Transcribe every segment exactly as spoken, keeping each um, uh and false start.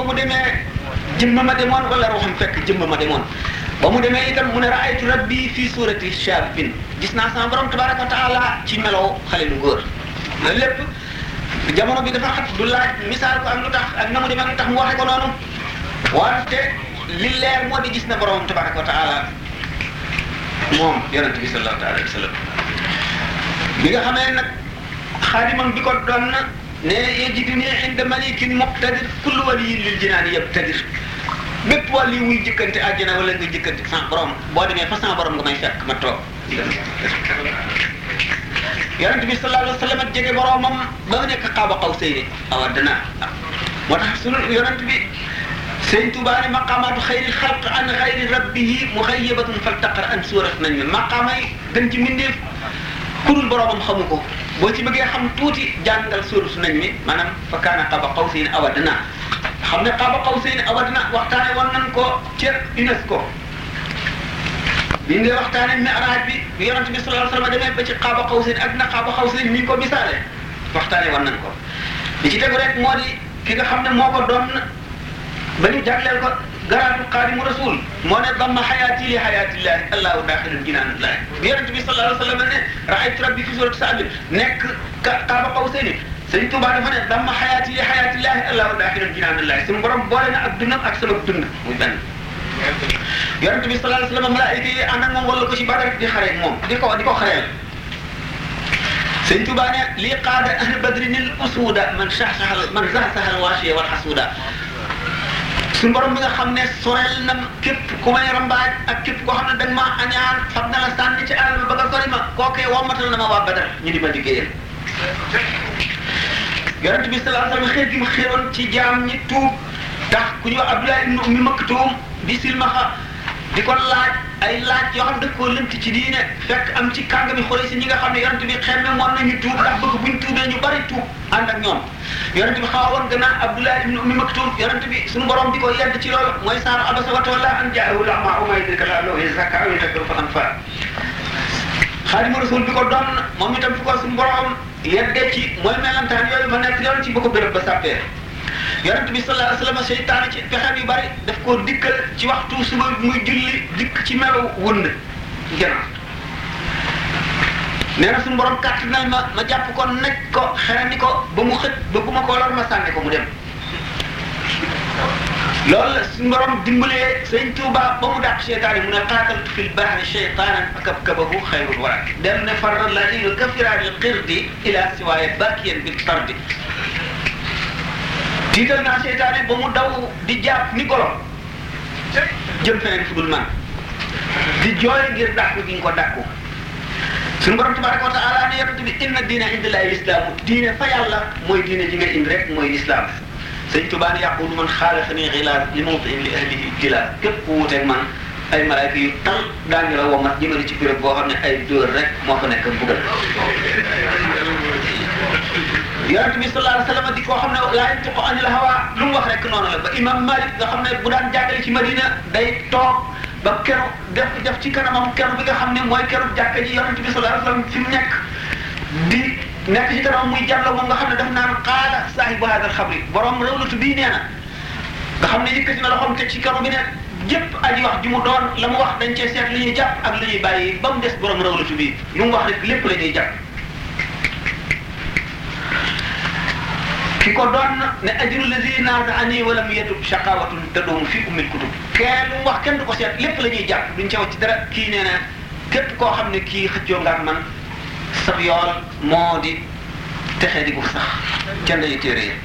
mu demee jëmm ma demoon wala ruuxam fekk jëmm ma demoon ba mu demee itam mu ne raaytu rabbi fii suurati shaabin gis naa sama borom tabaraka wa taala ci melow xale lu góor loolu lépp jamono bi dafa xat du laaj misaal ko ak lu tax ak na mu demee lu tax mu waxe ko noonu wante li leer moo di gis na borom tabaraka wa taala moom yonent bi sallallahu alayhi wa sallam bi nga xamee nag xaadimam bi ko doon na ne yajiduni inda malikin muqtadir kullu waliyin lil jinaani yabtadir bépp wàll yi muy jëkkante àjjana wala nga jëkkante sans borom boo demee fa sans borom nga may fekk ma toog yonent bi sallallahu alayhi wa sallam jege boromam ba mu nekk qaaba qawsayni aw adnaa moo tax sunu yonent bi sëñ Tuubaa ne maqaamaatu xayri xalq an xayri rabbihi muxayyabatun faltaqar an suurat nañ mi maqaamay gën ci mbindeef kurul boromam xamu ko boo ci bëggee xam tuuti jàngal suurat nañ mi maanaam fa kaana qaaba qawsayni aw adnaa xam ne qaaba qawsayni aw adnaa waxtaane woon nañ ko ca UNESCO bi ngay waxtaane mi'raaj bi bi yonent bi sallallahu alayhi wa sallam demee ba ci qaaba qawsayni adnaa qaaba qawsayni ni ko misaale waxtaane woon nañ ko li ci tegu rek moo di ki nga xam ne moo ko doon ba ñu jagleel ko garaatu xaadimu rasul moo ne damma xayaati li xayaatillahi allahu daaxilun jinaanillahi bi yonent bi sallallahu alayhi wa sallam ne raaytu rabbi fi suurati Sa'd nekk qaaba qawsayni sëñ Tuubaa dafa ne damma xayaati li xayaatillahi allahu daaxilun jinaanillahi suñu borom boole na ak dundam ak sama dund muy benn yonent bi sallallahu alayhi wa sallam malaayika yi ànd ak moom wala ko ci Badar di xare ak moom di ko di ko xareel sëñ Tuubaa ne lii qaada ahlu badrinil usuuda man saxsaxal man saxsaxal waasiya wal xasuuda suñu borom bi nga xam ne sorel na képp ku may rambaaj ak képp koo xam ne dañ maa añaan fab na la sànni ci àll ba nga sori ma kookee wommatal na ma waa Badar ñu di ma liggéeyal yonent bi sallallahu alayhi wa sallam xeet gi mu xéeroon ci jaam ñi tuub tax ku ñu wax Abdullah ibn Ummi Maktum bi silmaxa di ko laaj ay laaj yoo xam ne daf koo lënt ci diine fekk am ci kàngami Xuraysh ñi nga xam ne yonent bi xemme moon nañu tuub ndax bëgg buñ tuubee ñu bari tuub ànd ak ñoom yonent bi xaw a woon gannaaw Abdullah ibn Ummi Maktum yonent bi suñu borom di ko yedd ci loolu mooy saaru abasa wa tawalla an jaahu al-a'maa wa maa yudriika la'allahu yazakkaa aw yadhakkaru fa tanfa'ahu Xaadimu Rasuul bi ko doon moom itam fi ko suñu borom yedde ci mooy melantaan yooyu ma nekk yoon ci ba ko béréb ba sàppee yonent bi sallallahu alayhi wa sallam seytaane ci pexem yu bari daf koo dikkal ci waxtu suba muy julli dikk ci melo wënd gannaaw nee na suñu borom kàttanal ma ma jàpp ko nekk ko xerandi ko ba mu xët ba bu ma ko lor ma sànni ko mu dem loolu la suñu borom dimbalee sëñ Tuuba ba mu dàq seytaane mu ne qaataltu fil bahri shaytaanan fakabkabahu xayrul wara dem ne farra lailu kafiraanil qirdi ila siwaaya bakiyan bil tardi tiital naa seytaane ba mu daw di jàpp ni golo jëm feneen fu dul man di jooy ngir dàkku gi nga ko dàkku suñu borom tabaraka wa taala ne yonent bi inna diina indallaahi lislaamu diine fa yàlla mooy diine ji nga indi rek mooy lislaam sëñ Tuubaa ne yaqulu man xaalafanii xilaaf li mawtiin li ahlihi jilaaf képp ku wuuteeg man ay malaayka yu tal daañu la womat jëmale ci béréb boo xam ne ay dóor rek moo fa nekk mbugal yonent bi sallallahu alayhi wa sallam di koo xam ne laa yantiqu anil hawaa lu mu wax rek noonu la ba imam Malik nga xam ne bu daan jàngale ci Madina day toog ba keru def def ci kanamam keru bi nga xam ne mooy keru jàkka ji yonent bi sallallahu alayhi wa sallam fi mu nekk di nekk ci kanamam muy jàll moom nga xam ne daf naan qaala saahibu haadal xabri borom rawlatu bii nee na nga xam ne yëkkati na loxoom teg ci kanam bi ne jëpp aji wax ji mu doon la mu wax dañ cee seet li ñuy jàpp ak li ñuy bàyyi ba mu des borom rawlatu bii lu mu wax rek lépp la ñuy jàpp. ki ko doon ne ajru lazi naaza'anii wa lam yatub shaqaawatun tadum fi ummil kutub kenn lu mu wax kenn du ko seet lépp la ñuy jàpp duñ ca wax ci dara kii nee na képp koo xam ne kii xëccoo nga ak man sab yool moo di texee di gu sax kenn day téere yi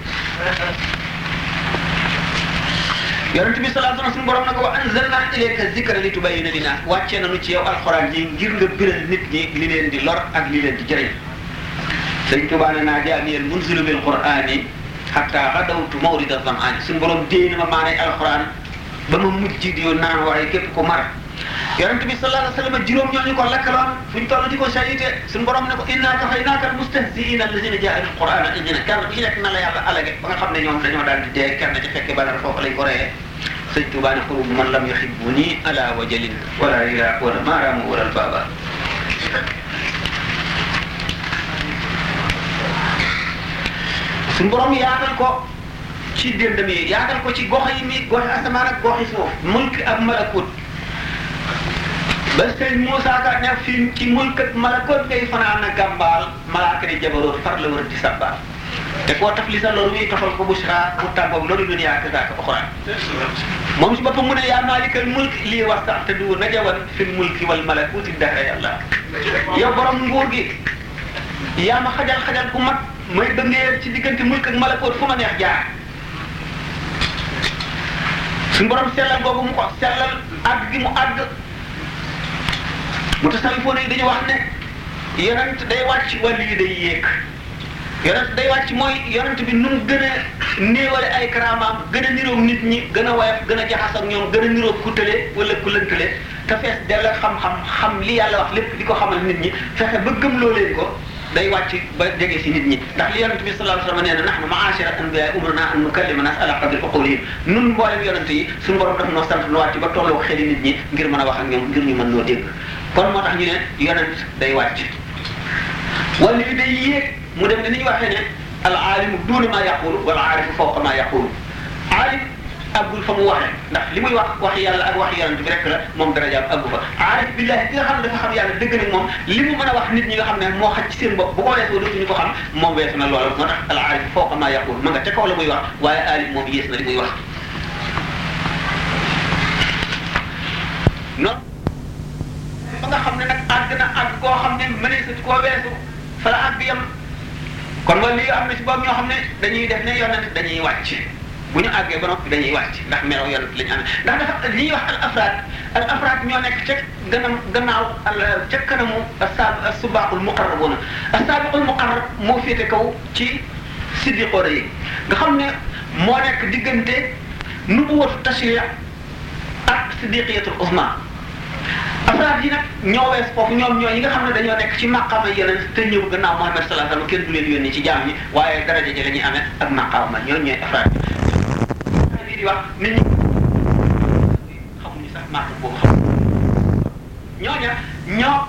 yonent bi sallallahu alayhi wa sallam suñu borom na ko wa anzalnaa ilayka zikra li tubayyina linnaas wàccee nañu ci yow alxuraan yi ngir nga biral nit ñi li leen di lor ak li leen di jëriñ sëñ Tuubaa ne naa jaaniyal munzilu bil qur'aani hatta ghadawtu mawrida zam'aani suñu borom déy na ma maanay alxuraan ba ma mujj di naan waaye képp ko mar yonent bi sallallahu alayhi wa sallam juróom ñooñu ko lakkaloon fuñ toll di ko sayite suñu borom ne ko innaa kafaynaaka al-mustahzi'iina allaziina jaa'alu al-qur'aana ihdina kenn ku ci nekk na la yàlla alage ba nga xam ne ñoom dañoo daal di dee kenn ci fekke Badar foofu lañ ko reyee sëñ Tuubaa ne xurub man lam yuhibbunii ala wajalin wala ila wala maaraamu wala baaba suñu borom yaatal ko ci déndam yi yaatal ko ci gox yi mi goxi asamaan ak goxi suuf mulk ak malakut ba sëñ Moussa Ka ne fii ci mulk ak malakut ngay fanaan a gàmbaal malaaka di jabaroot far la wër di sabbaal te koo taf li sa loolu muy tofal ko bushra mu tàggoog loolu duniyaa kazaaka uxraa moom si boppam mu ne yaa maalikal mulk lii wax sax te du najawan fil mulki wal malakuti dahra yàlla yow borom nguur gi yaa ma xajal xajal ku mag may dëngee ci diggante mulk ak malakut fu ma neex jaar suñu borom sellal googu mu ko sellal àgg gi mu àgg mu tasawufoon yi dañu wax ne yonent day wàcc wàllu yi day yéeg yonent day wàcc mooy yonent bi nu mu gën a néewale ay karaamaam gën a niroog nit ñi gën a woyof gën a jaxas ak ñoom gën a niroog ku tële wala ku lëntale te fees dell xam-xam xam li yàlla wax lépp di ko xamal nit ñi fexe ba gëmloo leen ko day wàcc ba jege si nit ñi ndax li yonent bi sallallahu alayhi wa sallam nee na nahnu ma'ashira anbiya umirna an nukallima nas ala qadri uqulihim nun mboolem yonent yi suñu borom daf noo sant nu wàcc ba tolloo xeli nit ñi ngir mën a wax ak ñoom ngir ñu mën noo dégg kon moo tax ñu ne yonent day wàcc wala yi day yéeg mu dem ne ni ñu waxee ne al aalimu duuna maa yaqulu wal aarifu fawqa maa yaqulu aalim àggul fa mu waxee ndax li muy wax waxi yàlla ak waxi yonent bi rek la moom darajaam àggu fa aarif billahi bi nga xam ne dafa xam yàlla dëgg nag moom li mu mën a wax nit ñi nga xam ne moo xaj ci seen bopp bu ko weesoo dootuñu ko xam moom weesu na loola moo tax al aarif fawqa maa yaqulu ma nga ca kaw la muy wax waaye aalim moom yées na li muy wax noonu ba nga xam ne nag àgg na àgg koo xam ne mëneesatu koo weesu fa la àgg yam kon wala li nga xam ne si boobu ñoo xam ne dañuy def ne yonent dañuy wàcc bu ñu àggee ba noppi dañuy wàcc ndax melaw yonent la ñu amee ndax dafa li ñuy wax al afraad al afraad ñoo nekk ca gannaaw gannaaw al ca kanamu as-saab as-subaqul muqarrabuuna as-saabiqul muqarrab moo féete kaw ci siddiqoona yi nga xam ne moo nekk diggante nubuwatu tashri' ak siddiqiyatul uzma afraad yi nag ñoo wees foofu ñoom ñoo yi nga xam ne dañoo nekk ci maqaama yeneen te ñëw gannaaw Muhammad sallallahu alayhi wasallam kenn du leen yónni ci jaam ñi waaye daraja ji la ñuy amee ak maqaama ñooñu ñooy afraad yi di wax nit ñi xamuñu sax màq boobu xam ñooña ñoo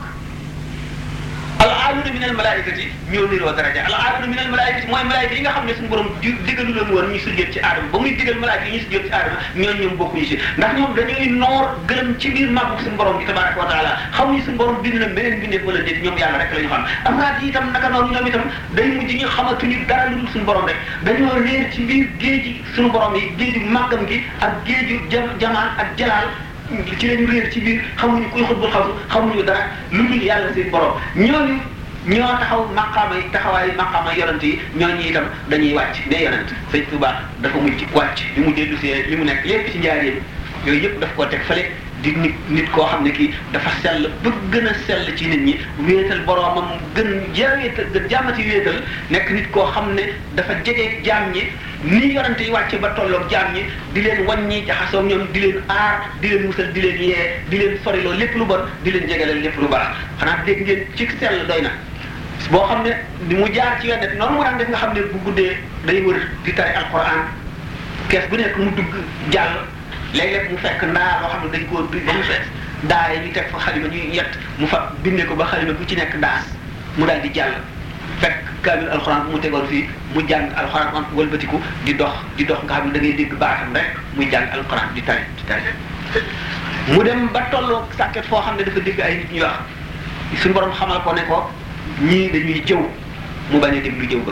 al aaluuna min al malaikati ñoo niroo daraja al aaluuna min al malaikati mooy malaayika yi nga xam ne suñu borom di digalu leen woon ñu sujjóot ci aadama ba muy digal malaayika yi ñu sujjóot ci aadama ñooñu ñoom bokkuñu si ndax ñoom dañuy noor gërëm ci biir màggu suñu borom bi tabaraka wa taala xamuñu suñu borom bind na beneen bindeef wala déet ñoom yàlla rek la ñu xam afraad yi itam naka noonu ñoom itam day mujj ñu xamatuñu dara lu dul suñu borom rek dañoo réer ci biir géeji suñu borom yi géeju màggam gi ak géeju jamaan ak jalaal ci lañu réer ci biir xamuñu kuy xutbul xawsu xamuñu dara lu dul yàlla seen borom ñooñu ñoo taxaw maqaama yi taxawaay maqaama yonent yi ñooñu itam dañuy wàcc ne yonent sëñ Tuubaa dafa mujj wàcc bi mu dellu see li mu nekk lépp ci njaareem yooyu yëpp daf koo teg fële di nit nit koo xam ne kii dafa sell ba gën a sell ci nit ñi wéetal boroomam gën jaaweetal gën jaamati wéetal nekk nit koo xam ne dafa jege jaam ñi ni yonent yi wàcc ba tolloog jaam ñi di leen wàññi jaxasoo ñoom di leen aar di leen musal di leen yee di leen soriloo lépp lu bon di leen jegaleel lépp lu baax xanaa dégg ngeen ci sell doy na boo xam ne ni mu jaar ci wennet noonu mu daan def nga xam ne bu guddee day wër di tari alquran kees bu nekk mu dugg jàll léeg-léeg mu fekk ndaa loo xam ne dañ koo bi ba mu fees daa yi ñu teg fa xalima ñuy yett mu fa bindee ko ba xalima bu ci nekk daas mu daal di jàll fekk kaamil alxuraan bu mu tegoon fii mu jàng alxuraan am wëlbatiku di dox di dox nga xam ne da ngay dégg baatam rek muy jàng alxuraan di tari di tari mu dem ba tolloo sàkket foo xam ne dafa dégg ay nit ñuy wax suñu borom xamal ko ne ko ñii dañuy jëw mu bañ a déglu jëw ba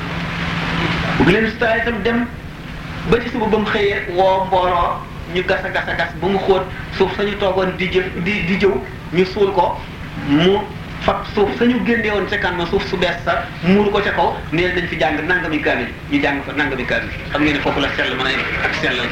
bu leen sutaay itam dem ba ci suba ba mu xëyee woo mbooloo ñu gas a gas a gas ba mu xóot suuf sañu toogoon di jëf di di jëw ñu suul ko mu fab suuf sañu génne woon ca kan ma suuf su bees sa muuru ko ca kaw neel nañ fi jàng nangami kaamil ñu jàng fa nangami kaamil xam ngeen ne foofu la sell mën a ak sellal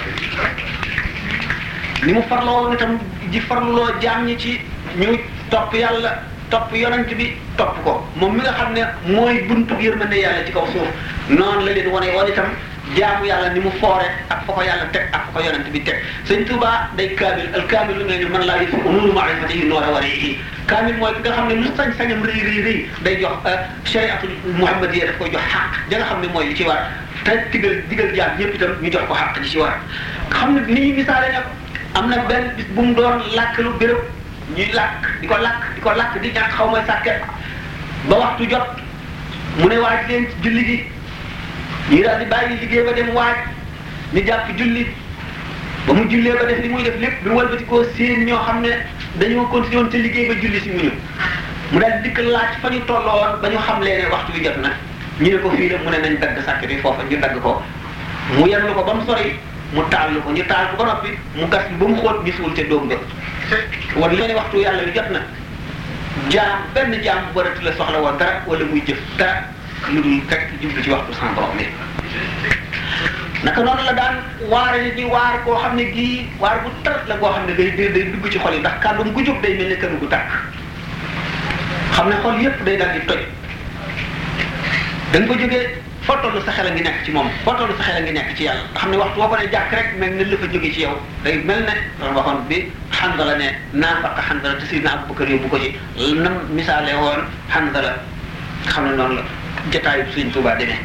ni mu farloo woon itam di farluloo jaam ñi ci ñu topp yàlla topp yonent bi topp ko moom mi nga xam ne mooy buntu yërmande yàlla ci kaw suuf noonu la leen wane woon itam jaamu yàlla ni mu foore ak fa ko yàlla teg ak fa ko yonent bi teg sëñ Tuubaa day kaamil al kaamil lu mel ni man laa yëf nuuru maarifatihi noora warihi kaamil mooy ki nga xam ne lu sañ-sañam rëy rëy rëy day jox shariatul muhammadiyya daf koy jox xaq ja nga xam ne mooy li ci war te digal digal jaam ñëpp itam ñu jox ko xaq ji ci war nga xam ne ni ñuy misaale nag am na benn bis bu mu doon làkk lu béréb ñuy làkk di ko làkk di ko làkk di ñàkk xaw ma sàkket ba waxtu jot mu ne waaj leen ci julli gi ñu daal di bàyyi liggéey ba dem waaj ni jàpp julli ba mu jullee ba def li muy def lépp bi walbati koo seen ñoo xam ne dañoo continué woon te liggéey ba julli si mu ñu mu daal dikk laaj fa ñu tolloo woon ba ñu xam lee ne waxtu wi jot na ñu ne ko fii la mu ne nañ dagg sàkk bi foofa ñu dagg ko mu yenlu ko ba mu sori mu taal ko ñu taal ko ba noppi mu gas bi ba mu xóot ñu suul te doom nga war leen ne waxtu yàlla wi jot na jaam benn jaam bu barati la soxla woon dara wala muy jëf dara lu dul rek jublu ci waxtu sans borom bi naka noonu la daan waare nit ñi waar koo xam ne gii waar bu tar la koo xam ne day day dugg ci xol yi ndax kàddu gu jóg day mel ne kanu gu tàkk xam ne xol yépp day daal di toj da nga ko jógee foo toll sa xel a ngi nekk ci moom foo toll sa xel a ngi nekk ci yàlla nga xam ne waxtu boo ko ne jàkk rek mel ne la fa jóge ci yow day mel ne loolu waxoon bi Hanzala ne naafaqa Hanzala te Sayyidina Abubakar yóbbu ko ci nam misaale woon Hanzala xam ne noonu la jotaayu Sëriñ Tuubaa demee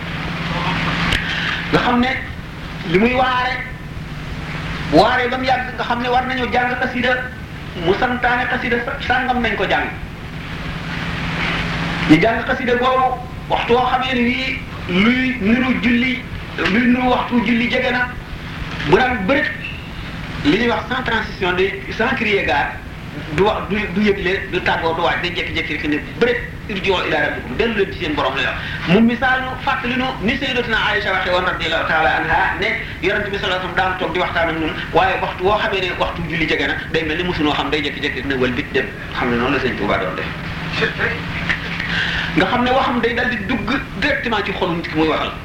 nga xam ne li muy waare waare ba mu yàgg nga xam ne war nañoo jàng xasida mu santaane xasida sàngam nañ ko jàng ñu jàng xasida boobu waxtu woo xamee ne nii luy niru julli luy niru waxtu julli jege na bu daan bërit li ñuy wax sans transition de sans crier gare du wax du du yëgle du tàggoo du waaj day jékki-jékki rek ne bërit irji'u ila rabbikum dellu leen ci seen borom la wax mu misaal nu fàttali nu ni sayyidatuna Aïcha waxee woon radiyallahu taala anha ne yonente bi sallallahu alayhi wasallam daan toog di waxtaan ak ñun waaye waxtu woo xamee ne waxtu julli jege na day mel ni mosunoo xam day jékki-jékki ne wal bit dem xam ne noonu la sëñ Tuubaa doon def nga xam ne waxam day dal di dugg directement ci xolu nit ki muy waxal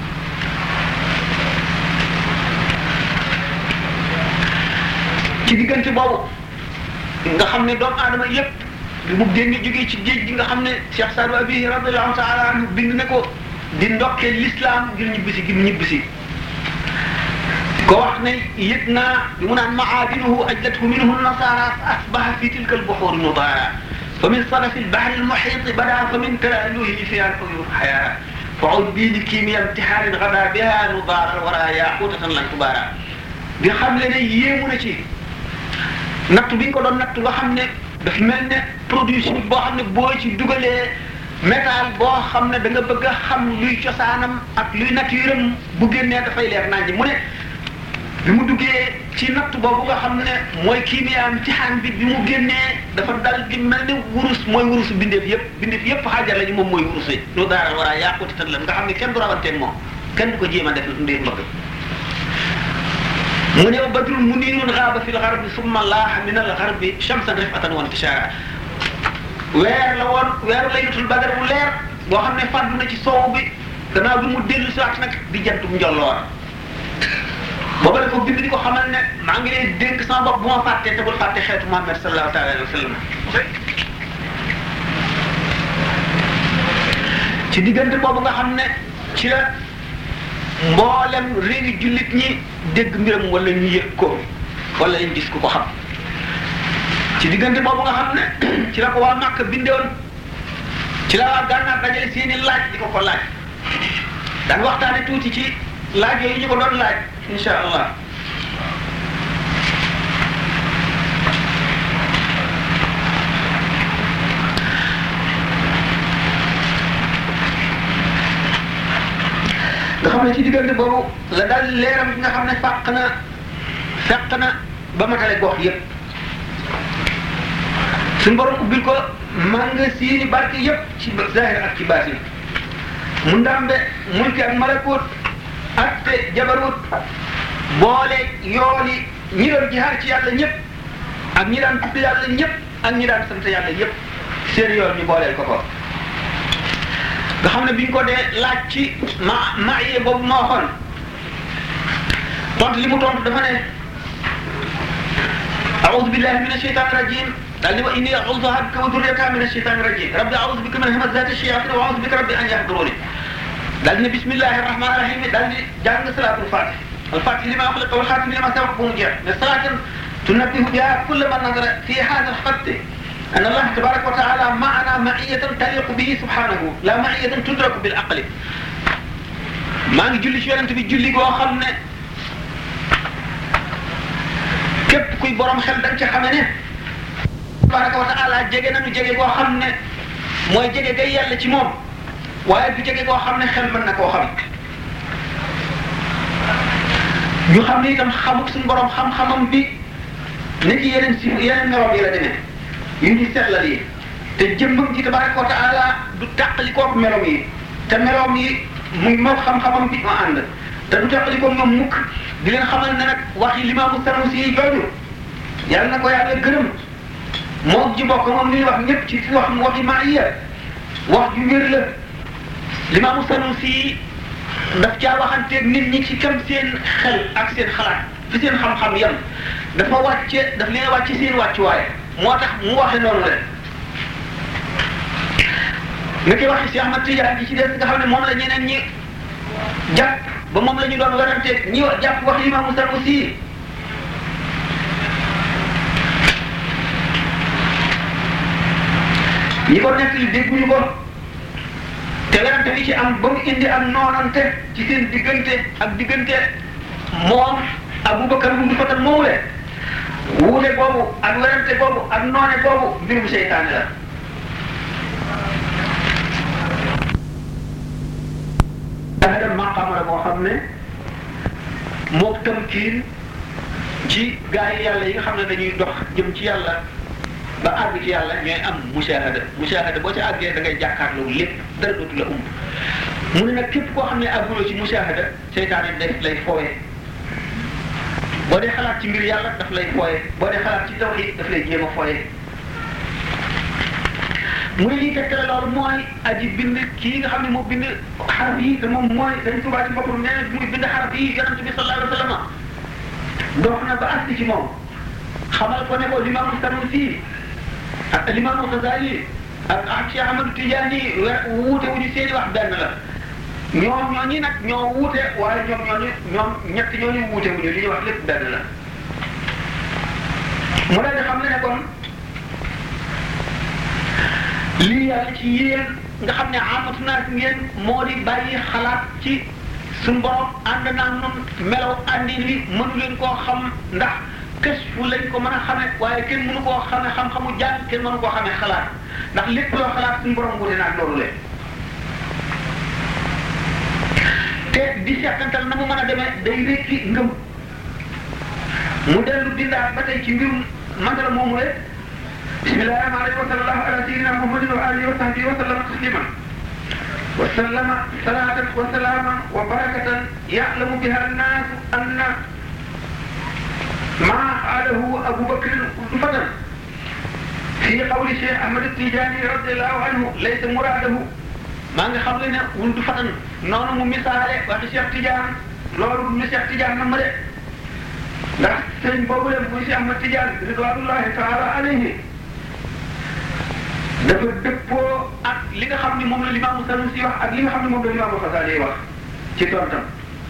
ci diggante boobu nga xam ne doomu aadama yépp li mu génne jógee ci géej gi nga xam ne Cheikh Sadou Abi radiyallahu taala anhu bind ne ko di ndokkee l'islam ngir ñibbisi gi mu ñibbisi ko wax ne yëg naa bi mu naan maadinuhu ajlathu minhu nasara fa asbaha fi tilka albuhuri nudara fa min sadafi albahri almuhiti bada fa min talaluhi fi aluyur xayaa fa ud bii li kiimiya imtihaanin gada biha nudara wara yaqutatan lan tubara di xam le ne yéemu na ci natt bi ñu ko doon natt nga xam ne daf mel ne produit chimique boo xam ne boo ci dugalee métal boo xam ne da nga bëgg a xam luy cosaanam ak luy nature am bu génnee dafay leer nañ mu ne bi mu duggee ci natt boobu nga xam ne mooy kiimiya imtihaan bi bi mu génnee dafa dal di mel ne wurus mooy wurusu bindeef yëpp bindeef yëpp xaajar lañu moom mooy wurus yi lu daaral war a yàquti tan la nga xam ne kenn du rawanteeg moom kenn du ko jéem a def ndir mbëgg mu ne badrun muniirun gaaba fi lgarbi summa laaha min algarbi shamsan rifatan wa intishaara weer la woon weeru laylatul badar bu leer boo xam ne fàddu na ci soow bi gannaaw bi mu dellu si waat nag di jantum njolloor booba la ko bind di ko xamal ne maa ngi leen dénk sama bopp bu ma fàttee te bul fàtte xeetu Muhammad sallallahu taala alayhi wa sallam ci diggante boobu nga xam ne ci la mboolem réewi jullit ñi dégg mbiram wala ñu yëg ko wala ñu gis ku ko xam ci diggante boobu nga xam ne ci la ko waa Màkka bindewoon ci la waa Gànnaar dajale seeni laaj di ko ko laaj daan waxtaane tuuti ci laaj yooyu ñu ko doon laaj insha allah nga xam ne ci diggante boobu la daal leeram bi nga xam ne fàq na fekk na ba matale gox yépp suñu borom ubbil ko manga siini barke yépp ci zahir ak ci baatin mu ndambe mulki ak malakut ak te jabarut boole yooli ñi doon jihaar ci yàlla ñëpp ak ñi daan tudd yàlla ñëpp ak ñi daan sant yàlla ñëpp seen yoon ñu booleel ko ko nga xam ne bi ñu ko dee laaj ci ma maye boobu ma waxoon tontu li mu tontu dafa ne a'udhu billahi minash shaytanir rajim daal ni wa inni a'udhuha bika wa dhurriyyataha minash shaytanir rajim rabbi a'udhu bika min hamazati shayatin wa a'udhu bika rabbi an yahduruni daal ni bismillahir rahmanir rahim daal di jàng salatul fatih al fatih lima ukhliqa wal khatim lima sabaqa bu mu jeex ne salaatan tunabbihu biha kulla man nazara fi hadha al khatt أن الله تبارك وتعالى معنا معية تليق به سبحانه لا معية تدرك بالعقل ما نجي جولي شو أنت بتجولي جوا خلنا كيف كوي برام خل دنش خمنه تبارك وتعالى جعنا نجيجي جوا خلنا ما يجيجي جاي يلا تيمون واحد بيجيجي جوا خلنا خل منك جوا خلنا ñu xam ne itam xamuk suñu borom xam-xamam bi ni ci yeneen si yeneen meloom yi la demee yu ñu seetlal yi te jëmmam ji tabaraka wa taala du tàqali koog meloom yi te meloom yi muy moom xam-xamam bi ma ànd te du tàqali koog ñoom mukk di leen xamal ne nag wax yi limaamu Sanusi yi jooju yàlla na ko yàlla gërëm moom ji bokk moom li ñuy wax ñëpp ci wax waxi maaiya wax ju wér la limaamu Sanusi yi daf caa waxanteeg nit ñi ci kam seen xel ak seen xalaat fi seen xam-xam yam dafa wàcce daf leen wàcce seen wàccuwaay moo tax mu waxe noonu la nga koy wax si Ahmad Tidiane ji ci des nga xam ne moom la ñeneen ñi jàpp ba moom la ñu doon weranteeg ñi jàpp wax limaamu Sanusi ñi ko nekk li dégguñu ko te werante li ci am ba mu indi am noonante ci seen diggante ak diggante moom Abubakar bu Fatan moomule wuute boobu ak werante boobu ak noone boobu mbirum seytaane la dafa dem maqaama la moo xam ne mook tamkiin ci gaa yi yàlla yi nga xam ne dañuy dox jëm ci yàlla ba àgg ci yàlla ñooy am mushahada mushahada boo ci àggee da ngay jàkkaarloo lépp dara dootu la umb mu ne nag képp koo xam ne àgguloo ci mushahada seytaane daf lay fooye boo dee xalaat ci mbir yàlla daf lay fooye boo dee xalaat ci tawhid daf lay jéem a fooye mu ne lii tegtale loolu mooy aji bind kii nga xam ne moo bind xaraf yi te moom mooy dañ Tuubaa ci boppam nee na muy bind xaraf yi yonent bi sallallahu alayhi wa sallam dox na ba àgg ci moom xamal ko ne ko limaamu Sanusi ak limaamu Xasaali ak ak Cheikh Ahmadou Tidiane wuute wu ñu seeni wax benn la ñoom ñooñu nag ñoo wuute waaye ñoom ñooñu ñoom ñett ñooñu wuute wu ñu li ñuy wax lépp benn la mu daal di xam ne ne kon lii yàlla ci yéen nga xam ne amatu naa ngeen moo di bàyyi xalaat ci suñu borom ànd naa noonu melaw àndin wi mënu leen koo xam ndax kës fu lañ ko mën a xamee waaye kenn mënu koo xamee xam-xamu jàng kenn mënu koo xamee xalaat ndax lépp loo xalaat suñu borom wute naag loolu leen te di seetantal na mu mën a demee day rékki ngëm mu dellu bindaat ba tey ci mbirum mandala moomu rek bismillahi rahmani rahim wa sallallahu ala sayyidina muhammadin wa alihi wa sahbihi wa sallama tasliman wa sallama salatan wa salaman wa barakatan ya'lamu biha an-nas anna ما قاله أبو بكر فتن في قول الشيخ أحمد التيجاني رضي الله عنه ليس مراده ما نغي خام لنا ولد فتن نونو مو مثالé wax Cheikh Tidiane loolu ñu Cheikh Tidiane nam de ndax sëñ boobu leen muy Cheikh Ahmad Tidiane ridwanullahi taala alayhi dafa dëppoo ak li nga xam ni moom la Limaamu Sanusi wax ak li nga xam ni moom la Limaamu Xasaali wax ci tontam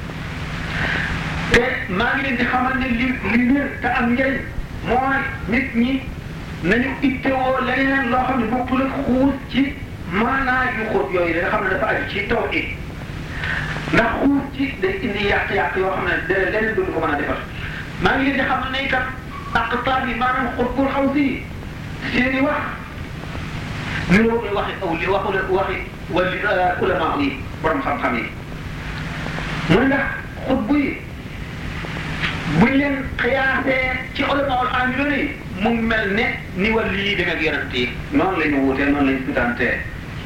te maa ngi leen di xamal ne li li wér te am njëriñ mooy nit ñi nañu ittewoo leneen loo xam ne bokkul ak xuus ci maanaa yu xóot yooyu da nga xam ne dafa aju ci tawhid ndax xuus ci day indi yàq-yàq yoo xam ne de leneen duñu ko mën a defar maa ngi leen di xamal ne itam aqtaab yi maanaam xutbul xaw si seen i wax ni loo koy waxi aw li waxu waxi wali ulama yi borom xam-xam yi mu ne ndax xutbu yi buñ leen xiyaasee ci ulamaul aamiloon yi mu mel ne ni wàllu yi demee ak yonent yi noonu la ñu wuutee noonu la ñu sutantee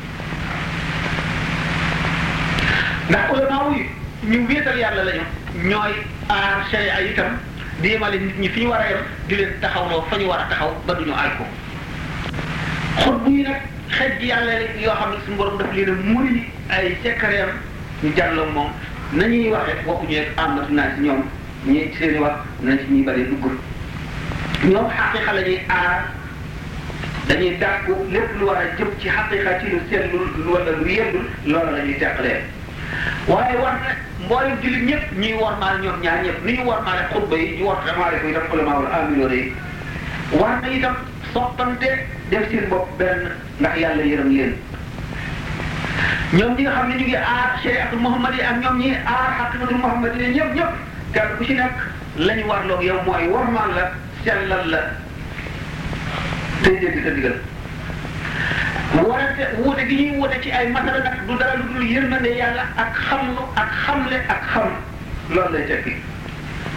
ndax ulama yi ñu wéetal yàlla lañu ñooy aar sharia itam di yemale nit ñi fi ñu war a yem di leen taxawloo fa ñu war a taxaw ba duñu aay ko xutbu yi nag xej ji yàlla yoo xam ne suñu borom daf leen a muri ay secret ñu jàlloo moom nañuy waxe waxuñu rek amatu naa si ñoom ñi seeni wax nañ ci ñuy bari duggul ñoom xaqiqa la ñuy aar dañuy dàggu lépp lu war a jëm ci xaqiqa ci lu seetlul wala lu yendul loola la ñuy teqalee waaye war na mboolem jullit ñëpp ñuy wormaal ñoom ñaar ñëpp ni ñu wormaale xutba yi ñu wormaale ko itam ulamaawul aamiloon yi war na itam soppante def seen bopp benn ndax yàlla yërëm leen ñoom ñi nga xam ne ñu ngi aar shariatul muhammad yi ak ñoom ñi aar xaqiqatul muhammad yi ñëpp ñëpp kenn ku ci nekk la ñu warloog yow mooy wormaal la sellal la tey dégg sa digal warante wuute gi ñuy wuute ci ay masala nag du dara lu dul yërmande yàlla ak xamlu ak xamle ak xam loolu lay tekki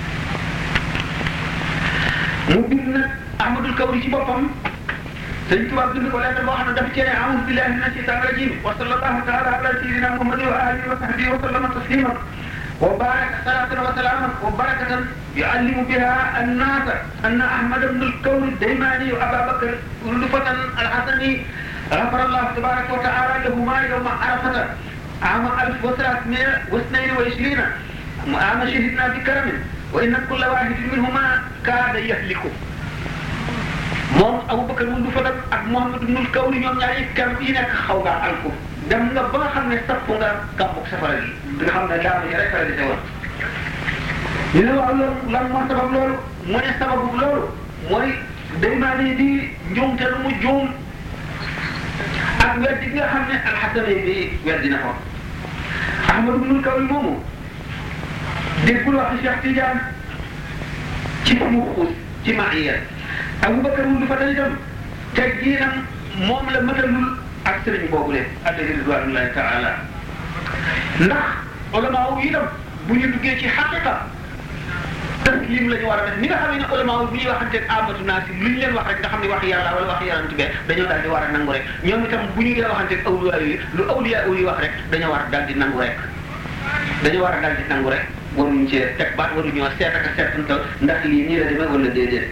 mu bind nag Ahmadul Kawri ci boppam sëñ Tuubaa bind ko lettre boo xam ne dafa cee a'uuzu billahi mina shaytaani rajiim wa sallallahu taala ala sayyidina Muhammadin wa alihi wa sahbihi wa sallama tasliman wa baraka salatan wa salaman wa barakatan yu'allimu biha an-naasa anna Ahmad ibn al-Kawri ad-Daymaani wa Abaa Bakr Rufatan al-Hasani غفر الله تبارك وتعالى لهما يوم عرفة عام ألف وثلاثمائة واثنين وعشرين عام شهدنا بكرم وإن كل واحد منهما كاد يهلك moom Abubakar wul du fa dem ak Muhammad ibnul Kawri ñoom ñaar yi kenn yi nekk xaw ngaa alku dem nga ba nga xam ne sapp nga gàmbug safara gi nga xam ne daanu ñu rek la di teewal ñu ne waaw loolu lan moo sabab loolu mu ne sababu loolu mooy Daymaani di njuumte lu mu juum ak weddi gi nga xam ne alxasane bi weddi na ko Ahmad ibnul Kawri moomu déggul waxi Cheikh Tidiane ci mu xuus ci maaya Abubakar wul du fa itam teg giinam moom la matalul ak sëriñ boobu leen alayhi ridwanullahi taala ndax ulama yi itam bu ñu duggee ci xaqiqa taslim la ñu war a def ni nga xam ne ulama bu ñuy waxanteeg amatu naasi lu ñu leen wax rek nga xam ne wax yàlla wala wax yonent bi dañoo daal di war a nangu rek ñoom itam bu ñu dee waxanteeg awliya yi lu awliya yi wax rek dañoo war a daal di nangu rek dañoo war a daal di nangu rek waruñu cee teg baat waruñoo seet ak a seetantal ndax lii nii la demee wala déedéet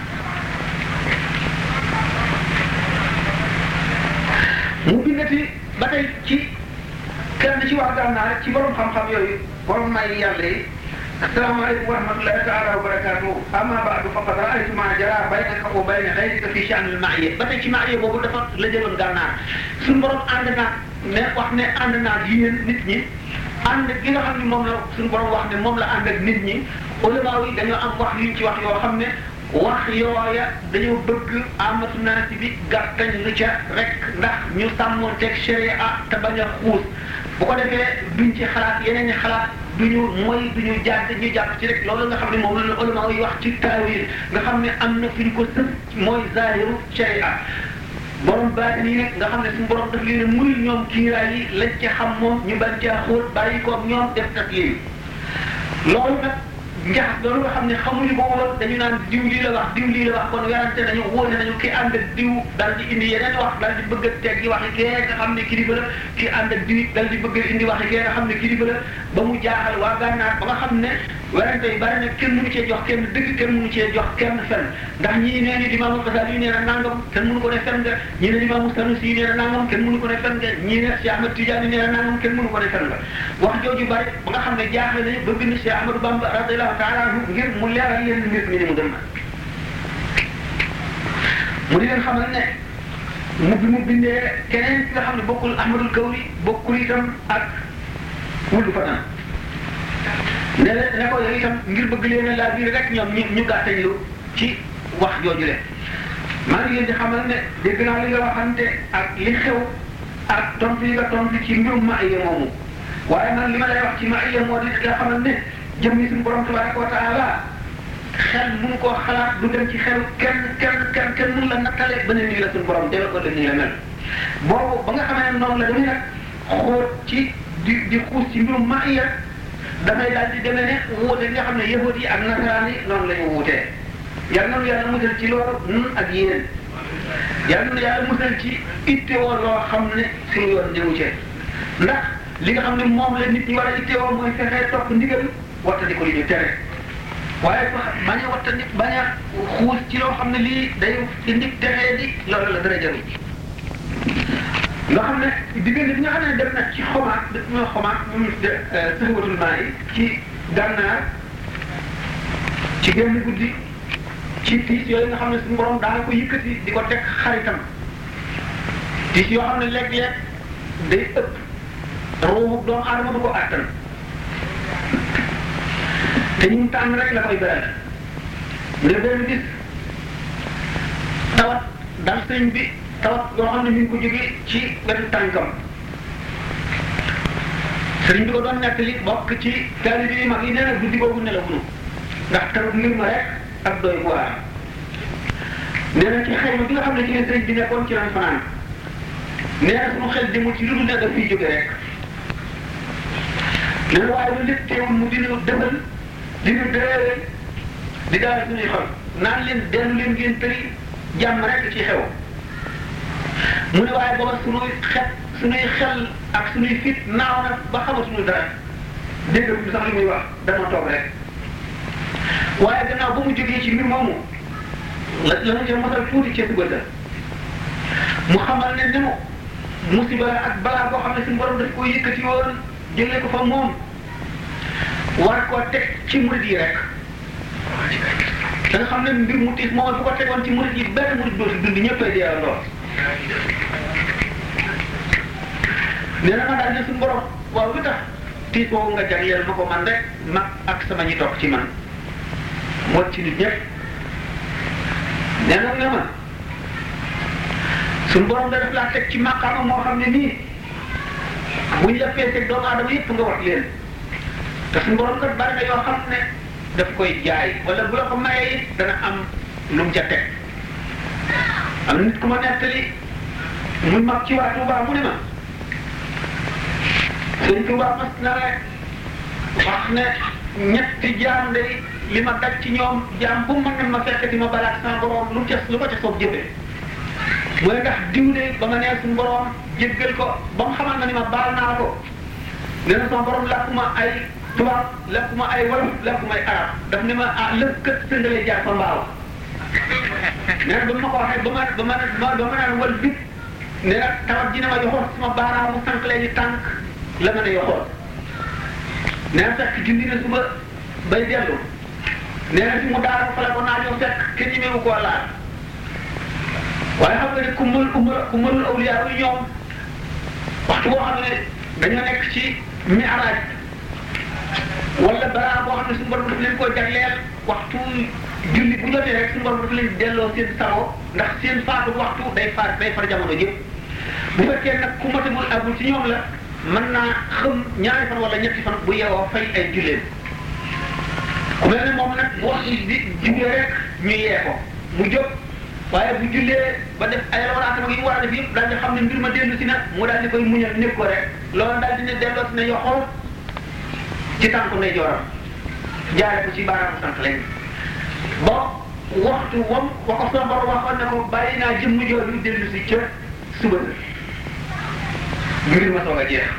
mu bindati ba tey ci kenn ci wax gànnaar ci borom xam-xam yooyu borom may yàlla yi asalaamaaleykum wa rahmatullahi taala wa barakaatuh amma baadu faqad raaytu ma jara baynaka wa bayna xayrika fi sha'nil ma'iyya ba tey ci ma'iyya boobu dafa la jëloon gànnaar suñu borom ànd naa ne wax ne ànd naa yéen nit ñi ànd gi nga xam ne moom la suñu borom wax ne moom la ànd ak nit ñi ulama yi dañoo am wax yuñ ci wax yoo xam ne wax yooya dañoo bëgg amatu naasi bi gàttañ lu ca rek ndax ñu sàmmoon teg sharia te bañ a xuus bu ko defee duñ ci xalaat yeneen i xalaat duñu mooy duñu jàdd ñu jàpp ci rek loolu nga xam ne moom la ulama yi wax ci taawil nga xam ne am na fi ñu ko sës mooy zahiru sharia borom baatin yi nag nga xam ne suñu borom daf leen muy ñoom kiiraay yi lañ ca xam moom ñu bañ caa xóot bàyyi ko ñoom def taslim loolu nag njax loolu nga xam ne xamuñu ko woon dañu naan diw lii la wax diw lii la wax kon werante nañu wóone nañu ki ànd ak diw dal di indi yeneen wax dal di bëgg a teg gi waxi kee nga xam ne kilifa la ki ànd ak diw dal di bëgg a indi waxi kee nga xam ne kilifa la ba mu jaaxal waa gànnaar ba nga xam ne werante yi bari na kenn mënu cee jox kenn dëgg kenn mënu cee jox kenn fen ndax ñii nee ni Imaamu Xasaali yi nee na nangam kenn mënu ko ne fen nga ñii ne Imaamu Sanusi yi nee na nangam kenn mënu ko ne fen nga ñii ne Cheikh Ahmad Tidiane nee na nangam kenn mënu ko ne fen nga wax jooju bari ba nga xam ne jaaxle nañu ba bind Cheikh Ahmadou Bamba radiyallahu taala anhu ngir mu leeral leen mbir mi ni mu dem mu di leen xamal ne mu bi mu bindee keneen ki nga xam ne bokkul Ahmadul Kawri bokkul itam ak wuldu fatan ne la ne ko yow itam ngir bëgg leen a laa biir rek ñoom ñu ñu gàttañ lu ci wax jooju leen maa ngi leen di xamal ne dégg naa li nga waxante ak li xew ak tontu yi nga tontu ci mbirum maaya moomu waaye man li ma lay wax ci maaya moo di nga xamal ne jëmmi suñu borom tabaraka wa taala xel mënu koo xalaat du dem ci xel kenn kenn kenn kenn mënu la nattale ba ne nii la suñu borom deme ko de nii la mel boobu ba nga xamee ne noonu la damay nag xool ci di di xuus ci mbirum maaya dafay daal di demee ne wuute nga xam ne yahud yi ak nasaraan yi noonu la ñu wuutee yal na nu yàlla musal ci loolu nun ak yéen yal na nu yàlla musal ci ittewoo loo xam ne suñu yoon di wuute ndax li nga xam ne moom la nit ñi war a ittewoo mooy fexee topp ndigal wattandi ko li ñu tere waaye bañ a wattandi bañ a xuus ci loo xam ne lii day indi texee di loolu la dara jëriñ nga xam ne diggante bi nga xam ne dem na ci xomaat daf ñoo xomaat ñu de sëxwatul maa yi ci gànnaar ci genn guddi ci tiis yooyu nga xam ne suñu borom daana ko yëkkati di ko teg xaritam tiis yoo xam ne léeg-léeg day ëpp ruuxu doomu aadama du ko àttan te ñu tànn rek la koy beral mu ne benn gis tawat dal sëñ bi tawat yoo xam ne mi ngi ko jógee ci wetu tànkam sëriñ bi ko doon nettali bokk ci taalibe yi mag yi nee na guddi boobu nelawuñu ndax tarut ngir ma rek ak doy bu waar nee na ci xayma bi nga xam ne ci leen sëriñ bi nekkoon ci lañ fanaan nee na suñu xel demul ci lu dul ne daf fiy jóge rek nee na waaye lu lépp teewul mu dina defal dina dëreere di daal suñuy xol naan leen dellu leen ngeen tëri jàmm rek ci xew mu ne waaye booba suñuy xet suñuy xel ak suñuy fit naaw na ba xamatuñu dara dégg sax li muy wax dama toog rek waaye gannaaw ba mu jógee ci mbir moomu la la ñu mosal tuuti ci suba mu xamal ne ni mu musiba ak balaa boo xam ne suñu borom daf ko yëkkati woon jëlee ko fa moom war koo teg ci murid yi rek da nga xam ne mbir mu tiis moom bu ko tegoon ci murid yi benn murid dootu dund ñëppay deewandoo nee na ma daal ne suñu borom waaw lu tax tiis boobu nga jagleel ma ko man rek mag ak sama ñi topp ci man moo ci nit ñëpp nee na ne ma suñu borom da def laa teg ci maqaama moo xam ne nii buñ la feesee doomu aadama yëpp nga wax leen te suñu borom kat bari na yoo xam ne daf koy jaay wala bu la ko mayee it dana am lu mu ca teg am na nit ku ma nettali muy mag ci waa Touba mu ne ma sëñ Touba mas na ne wax ne ñetti jaam day li ma daj ci ñoom jaam bu ma ne ma fekk di ma balaat sama borom lu ca lu ko ca soob jëfee mu ne ndax diw de ba ma nee suñu borom jéggal ko ba mu xamal na ni ma baal naa ko nee na sama borom lakkuma ay tubaab lakkuma ay wolof lakkuma ay arab daf ne ma ah lëkk kët sëngalee jaar fa mbaaw nee na ba ma ko waxee ba ma ba ma ba ma naan wal bit nee na tawat ji ne ma yoxoon sama baaraamu sànq leen ni tànk la ma ne yoxoon nee na fekk julli na suba bay dellu nee na fi mu daara fa la ko naajoo fekk kenn ñemewu koo laal waaye xam nga ne ku mën ku mën ku mënul awliyaa yi ñoom waxtu boo xam ne dañoo nekk ci mi'raaj wala balaa boo xam ne suñu borom daf leen koo jagleel waxtu julli bu jotee rek suñu borom daf leen delloo seen sago ndax seen faatu waxtu day far day far jamono yëpp bu fekkee nag ku matamul agul ci ñoom la mën naa xam ñaari fan wala ñetti fan bu yeewoo fay ay julleen ku mel ne moom nag bu waxtu di jugee rek ñu yee ko mu jóg waaye bu jullee ba def ay rawatina yi mu war a def yëpp daal di xam ne mbir ma dellu si na mu daal di koy muñal nekk ko rek loolu daal di ne delloo si ne yoxoo ci tànku ndey jooram jaare ko ci baaraamu sant léegi ba waxtu wam wa ko sama borom waxoon ne ko bàyyi naa jëmm jooju dellu si ca suba mbir ma soog a jeex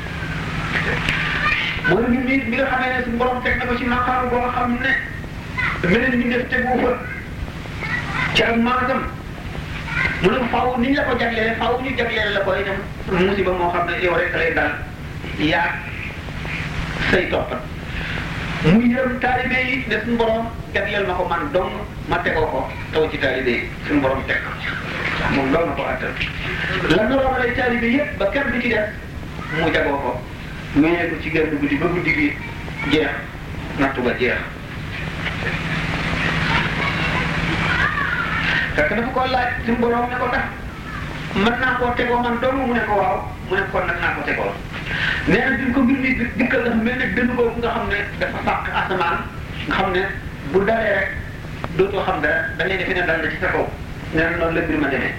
mooy mbir mi mi nga xamee ne suñu borom teg na ko ci maqaam boo xam ne meneen mi def tegu fa ci ak maanaam mu ne faaw ni ñu la ko jaglelee faaw ñu jagleele la ko itam musiba moo xam ne yow rek lay dal yaa say toppat muy yërëm taalibe yi ne suñu borom jagleel ma ko man dong ma tegoo ko taw ci taalibe yi suñu borom teg moom loolu na ko attal la naroon lay taalibe yëpp ba kenn du ci def mu jagoo ko ñëwee ko ci genn guddi ba guddi gi jeex nattu ba jeex fekk dafa ko laaj suñu borom ne ko ndax mën naa koo tegoo man dong mu ne ko waaw mu ne kon nag naa ko tegoo nee na duñ ko mbir mi dikkal dafa mel ne dënn boobu nga xam ne dafa fàq asamaan nga xam ne bu dalee rek dootoo xam dara da ngay defe ne dal na ci sa kaw nee na noonu la mbir ma demee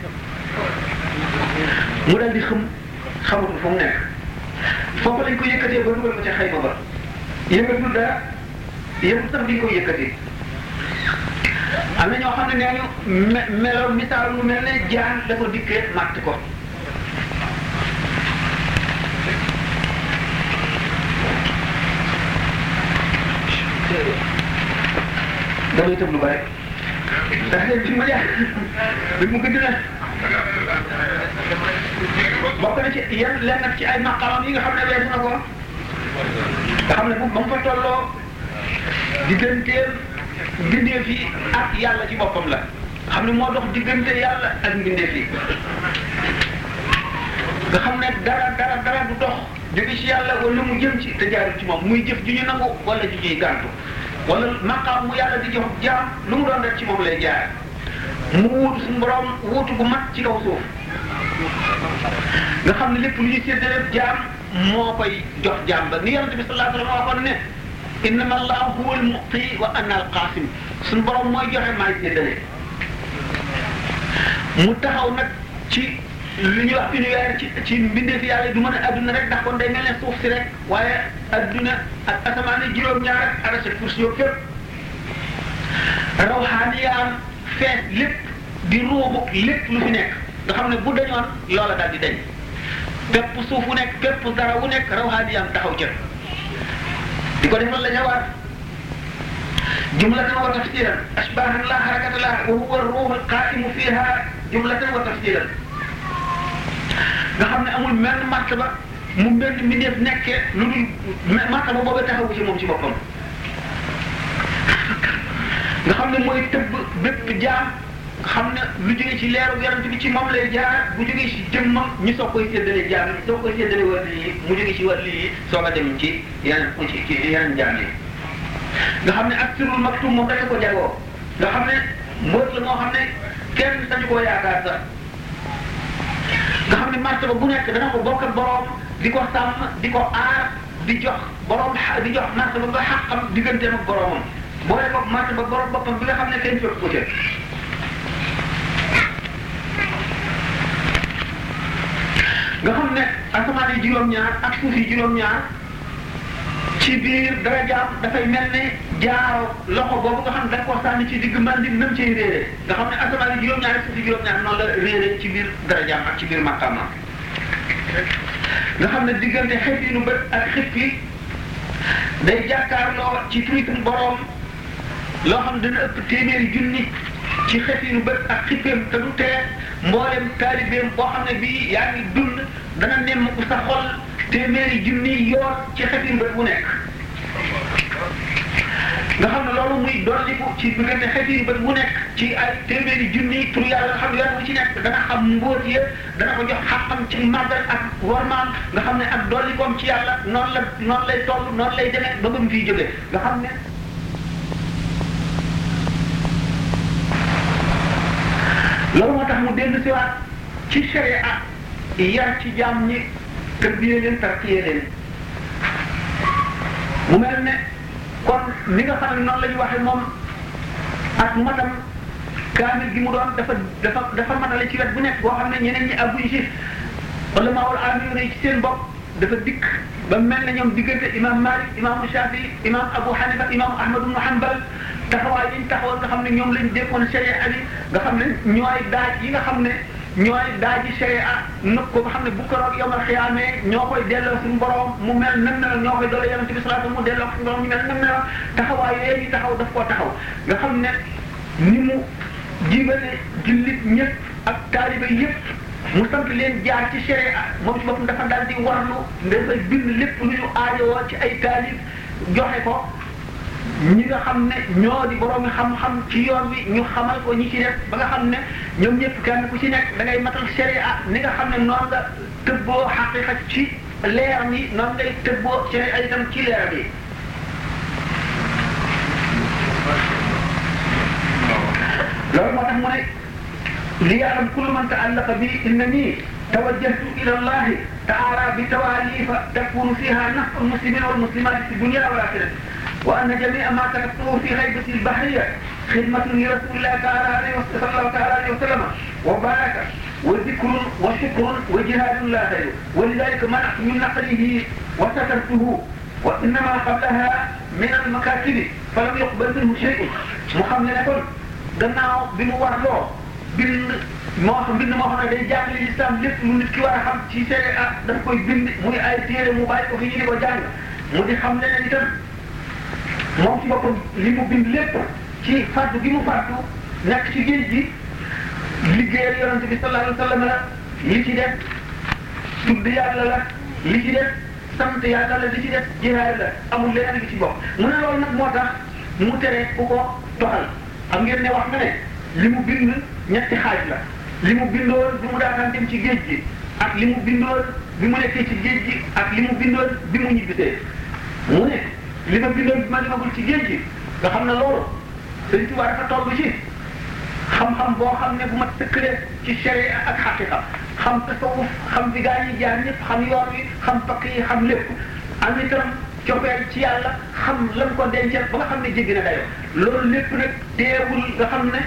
mu dal di xam xamatul fu mu nekk foofu lañ ko yëkkatee ba dugal ko ca xayma ba yëngatul dara yëngu sax di ko yëkkatee am na ñoo xam ne nee ñu me meloon misaal mu mel ne jaan dafa dikkee màtt ko damay tëb lu bare ndax leen fi ma jaar bi mu gëdd na bokk na ci yan lenn nag ci ay maqamam yi nga xam ne weesu na ko nga xam ne bu ba mu fa tolloo digganteem mbindeef yi ak yàlla ci boppam la xam ne moo dox diggante yàlla ak mbindeef yi nga xam ne dara dara dara du dox jóge ci yàlla wala mu jëm ci te jaarul ci moom muy jëf ju ñu nangu wala ju ñuy gàntu wala maqaam mu yàlla di jox jaam lu mu doon rek ci moom lay jaar mu wuutu suñu borom wuutu bu mat ci kaw suuf nga xam ne lépp lu ñuy séddale jaam moo koy jox jaam ba ni yonent bi sallallahu alayhi wa sallam waxoon ne innama allahu huwa al-mu'ti wa ana al-qasim suñu borom mooy joxe maay séddale mu taxaw nag ci li ñuy wax univers ci ci mbindeefi yàlla du mën a adduna rek ndax kon day mel ne suuf si rek waaye adduna ak asamaan yi juróom-ñaar ak arasa kursi yoo fépp rawxaaniyaam fees lépp di ruubu lépp lu fi nekk nga xam ne bu dañoon loola daal di dañ bépp suuf wu nekk bépp dara wu nekk rawxaaniyaam taxaw ca di ko defal la ñawaat jumlatan wa tafsiran ashbahan la harakata la wa huwa ar-ruh al-qa'imu fiha jumlatan wa tafsiran nga xam ne amul menn martaba mu mel ni mbindeef nekkee lu dul martaba boobu taxawu ci moom ci boppam nga xam ne mooy tëbb bépp jaam nga xam ne lu jógee ci leeru yonent bi ci moom lay jaar bu jógee ci jëmmam ñu soog koy séddale jaam yi soog koy séddale wàll yi mu jógee ci wàll yi soog a dem ci yeneen ci ci yeneen jaam yi nga xam ne ak sirul maktum moom dafa ko jagoo nga xam ne mbóot la moo xam ne kenn sañu koo yaakaar sax nga xam ne martaba bu nekk dana ko bokk ak borom di ko sàmm di ko aar di jox borom di jox martaba ba xaqam digganteem ak boromam boole ko martaba borom boppam bi nga xam ne kenn fekk ko ca nga xam ne asamaan yi juróom-ñaar ak suuf yi juróom-ñaar ci biir dara jaam dafay mel ne jaaro loxo boobu nga xam ne da nga koo sànni ci digg mandi nam ciy réere nga xam ne asamaan yi juróom-ñaar ak suuf yi juróom-ñaar noonu la réere ci biir dara jaam ak ci biir maqaama nga xam ne diggante xef yi nu bët ak xif yi day jàkkaarloo ci tuuti borom loo xam ne dana ëpp téeméeri junni ci xef yi nu bët ak xippeem te du tee mboolem taalibeem boo xam ne bii yaa ngi dund dana nemm ku sa xol téeméeri junni yoon ci xef yi nu bët bu nekk nga xam ne loolu muy dolliku ci diggante xef yi nu bët bu nekk ci ay téeméeri junni tur yàlla nga xam ne yoon bu ci nekk dana xam mbóot ya dana ko jox xaqam ci màggal ak wormaam nga xam ne ak dollikoom ci yàlla noonu la noonu lay toll noonu lay demee ba ba mu fiy jógee nga xam ne loolu moo tax mu dellu siwaat ci sharia yar ci jaam ñi tërbiyee leen tarkiyee leen mu mel ne kon ni nga xam ne noonu la ñu waxee moom ak matam kaamil gi mu doon dafa dafa dafa matale ci wet bu nekk boo xam ne ñeneen ñi àgguñ ci wala maawul aamiru ne ci seen bopp dafa dikk ba mel ne ñoom diggante imam Malik imam Shafi imam Abu Hanifa imam Ahmad ibn Hanbal taxawaay yi ñu taxawal nga xam ne ñoom lañ déggoon sharia bi nga xam ne ñooy daaj yi nga xam ne ñooy daaji sharia nëb ko nga xam ne bu ko roog yawmal xiyaamee ñoo koy delloo suñu borom mu mel nam na ñoo koy doole yonent bi salaatu mu delloo suñu borom ñu mel nam na taxawaay yooyu ñu taxaw daf koo taxaw nga xam ne ni mu jibale jullit ñëpp ak taaliba yëpp mu sant leen jaar ci sharia moom ci boppam dafa daal di warlu dafay bind lépp lu ñu aajowoo ci ay taalib joxe ko ñi nga xam ne ñoo di borom xam-xam ci yoon wi ñu xamal ko ñi ci def ba nga xam ne ñoom ñëpp kenn ku ci nekk da ngay matal sharia ni nga xam ne noonu nga tëbboo xaqiqa ci leer mi noonu ngay tëbboo sharia itam ci leer bi loolu moo tax mu ne li ya'lam kullu man ta'allaqa bi innani tawajjahtu ila Allah ta'ala bi tawalifa takunu fiha naf'u al-muslimina wal muslimat fi dunya wal akhirah وأن جميع ما كتبته في غيبة البحرية خدمة لرسول الله تعالى عليه صلى الله تعالى عليه وسلم وبركة وذكر وشكر وجهاد لا غير ولذلك منعت من نقله وسترته وإنما قبلها من المكاتب فلم يقبل منه شيء محملة gannaaw bi mu war loo bind moo xam bind moo xam ne day jàngale l'islam lépp lu nit ki war a xam ci sharia daf koy bind muy ay téere mu bàyyi ko fi ñu di ko jàng mu di xam leneen itam moom ci boppam li mu bind lépp ci fàddu gi mu fàddu nekk ci géej gi liggéeyal yonente bi sallallahu alayhi wa sallam la li ci def tudd yàlla la li ci def sant yàlla la li ci def jihaad la amul leneen li ci bopp mu ne loolu nag moo tax mu tere ku ko toxal xam ngeen ne wax nga ne li mu bind ñetti xaaj la li mu bindoon bi mu daataan dem ci géej gi ak li mu bindoon bi mu nekkee ci géej gi ak li mu bindoon bi mu ñibbisee mu ne li ma bindoon bi ma demagul ci géej gi nga xam ne loolu Sëriñ Tuubaa dafa toll ci xam-xam boo xam ne bu ma tëkkalee ci sharia ak xaqiqa xam tasawuf xam fi gaa yi jaar ñëpp xam yoon wi xam pakk yi xam lépp am itam cofeel ci yàlla xam lan ko dencal ba nga xam ne jéggi na dayo loolu lépp nag teewul nga xam ne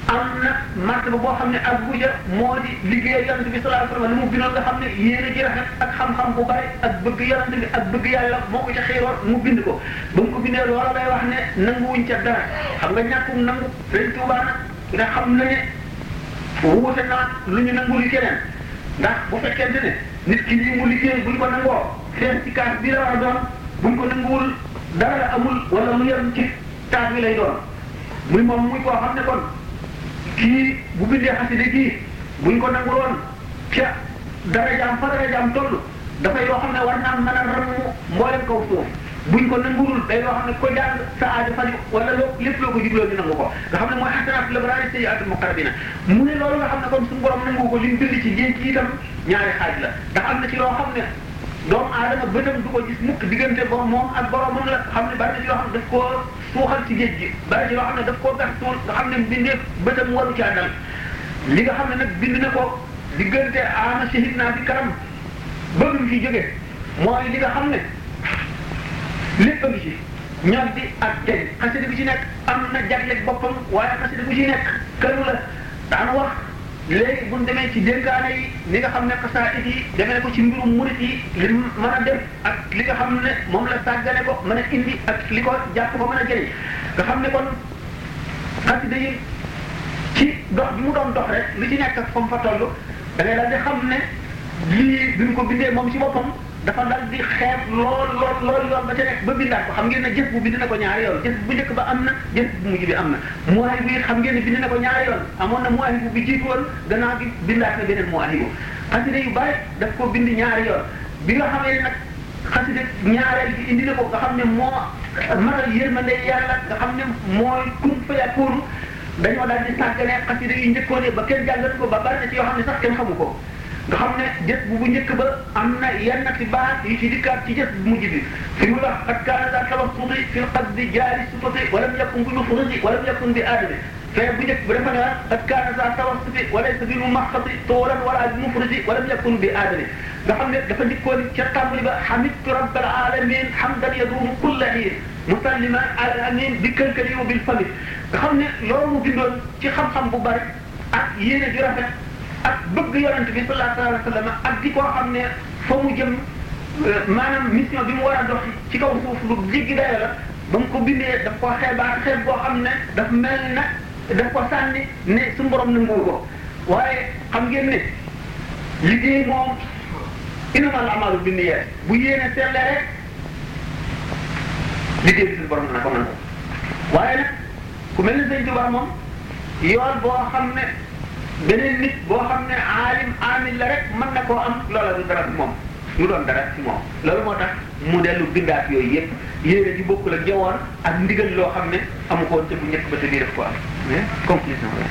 am na martaba boo xam ne ak buja moo di liggéey yonent bi sallallahu alayhi wasallam li mu bindoon nga xam ne yéene ji rafet ak xam-xam bu bari ak bëgg yonent bi ak bëgg yàlla moo ko ca xiiroon mu bind ko ba mu ko bindee loola lay wax ne nanguwuñ ca dara xam nga ñàkkum nangu Sëriñ Tuubaa nag nga xam na ne wuute naa lu ñu nangul yi keneen ndax bu fekkente ne nit ki lii mu liggéey buñ ko nangoo seen ci kaas bi la war a doon buñ ko nanguwul dara la amul wala mu yem ci taas bi lay doon muy moom muy koo xam ne kon kii bu bindee xaside kii buñ ko nanguloon ca darajaam fa darajaam toll dafay yoo xam ne war naa mën a ramu mboolem kaw suuf buñ ko nanguwul day loo xam ne ko jàng sa aajo faju wala loo lépp loo ko jubloo ñu nangu ko nga xam ne mooy xasanaat labraari sayyi'aatul muqarrabiina mu ne loolu nga xam ne kon suñu borom nangu ko li mu bind ci géej gi itam ñaari xaaj la ndax am na ci loo xam ne doomu aadama bëtam du ko gis mukk diggante bo moom ak boromam la xam ne bari na ci loo xam ne daf koo suuxal ci géej gi bari ci loo xam ne daf koo gas suul nga xam ne mbindeef bëtam waru caa dal li nga xam ne nag bind na ko diggante ama shahid naa bi karam ba mu fi jóge mooy li nga xam ne lépp a ngi ci ñoom bi ak jëñ xasida bi ci nekk am na jagleeg boppam waaye xasida bu ci nekk këru la daana wax léegi bu ñu demee ci dénkaane yi li nga xam ne xasaayid yi demee ko ci mbirum murit yi li mën a def ak li nga xam ne moom la sàggane ko mën a indi ak li ko jàpp ko mën a jëriñ nga xam ne kon xasida yi ci dox bi mu doon dox rek li ci nekk ak fa mu fa toll da ngay daal di xam ne lii bi mu ko bindee moom ci boppam dafa dal di xeeb lool lool lool yoon ba ca nekk ba bindaat ko xam ngeen ne jës bu bind na ko ñaari yoon jës bu njëkk ba am na jës bu mujj bi am na muwaahib bi xam ngeen ne bind na ko ñaari yoon amoon na muwaahib bi jiitu woon gannaaw bi bindaat na beneen muwaahib xasida yu bari daf ko bind ñaari yoon bi nga xamee ne nag xasida ñaareel bi indi na ko nga xam ne moo matal yërmande yàlla nga xam ne mooy kun fa yakunu dañoo daal di sàggane xasida yu njëkkoon ba kenn jàngat ko ba bari na ci yoo xam ne sax kenn xamu ko nga xam ne jës bu bu njëkk ba am na yenn ci baat yu ci dikkaat ci jës bu mujj bi fi mu wax qad kaana daa tawassuti fi lqasdi jaari sufati walam yakun bi mufridi walam yakun bi aadami fee bu njëkk ba dafa ne qad kaana daa tawassuti walaysa bi mumaxati toolan wala bi mufridi walam yakun bi aadami nga xam ne dafa njëkkoon ca tàmbali ba hamidtu rabbal alamin hamdan yaduumu kulla hiin musalliman ala amin bi kënkali wa bil famit nga xam ne loolu mu bindoon ci xam-xam bu bari ak yéene ju rafet ak bëgg yonent bi sallallahu alayhi wa sallam ak di koo xam ne fa mu jëm maanaam mission bi mu war a dox ci kaw suuf lu jéggi dayo la ba mu ko bindee daf ko xeebaat xeeb boo xam ne daf mel na daf ko sànni ne suñu borom nangu ko waaye xam ngeen ne liggéey moom innamal a'maalu binniyaat bu yéene seetlee rek liggéey bi suñu borom na ko nangu waaye nag ku mel ne Sëñ Tuubaa moom yoon boo xam ne beneen nit boo xam ne aalim aamil la rek mën na koo am loola du dara ci moom mu doon dara ci moom loolu moo tax mu dellu bindaat yooyu yëpp yéene ji bokkul ak jawoon ak ndigal loo xam ne amu ko woon te bu njëkk ba te bii def ko am mais conclusion la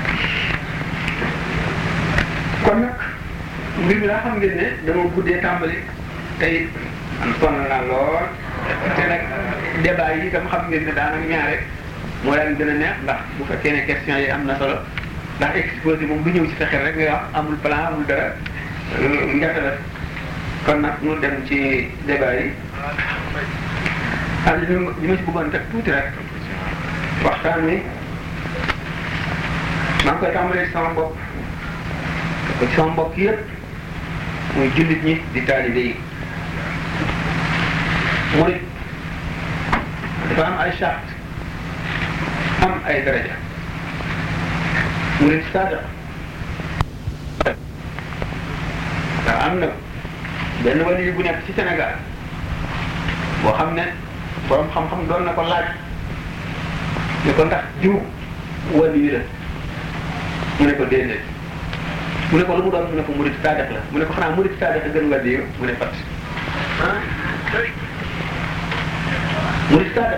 kon nag mbir mi laa xam ngeen ne dama guddee tàmbali tey am sonn naa lool te nag débat yi itam xam ngeen ne daanaka ñaare moo daan gën a neex ndax bu fekkee ne question yi am na solo ndax exposé moom du ñëw ci sa xel rek ngay wax amul plan amul dara njafe la kon nag ñu dem ci débat yi ah li li ma ci bëggoon teg tuuti rek waxtaan wi maa ngi koy tàmbalee ci sama bopp ko ci sama mbokk yëpp muy jullit ñi di taalibe yi murit dafa am ay charte am ay daraja murit saadiq waaw am na benn wali bu nekk ci Sénégal boo xam ne borom xam-xam doon na ko laaj ne ko ndax jiw wali la mu ne ko déedéet mu ne ko lu mu doon mu ne ko murit saadiq la mu ne ko xanaa murit saadiq a gën wali mu ne fat ah murit saadiq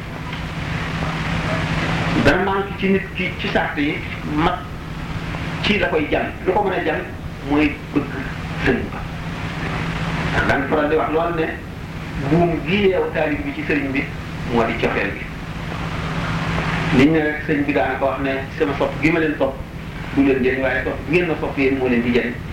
dana manqué ci nit ki ci sart yi mat ci la koy jàng lu ko mën a jàng mooy bëgg sëriñ ba daan faral di wax loolu ne buum gi yeew taalib bi ci sëriñ bi moo di cofeel gi liñ ne rek sëriñ bi daana ko wax ne sama sopp gi ma leen sopp du leen jëriñ waaye sopp ngeen ma sopp yéen moo leen di jëriñ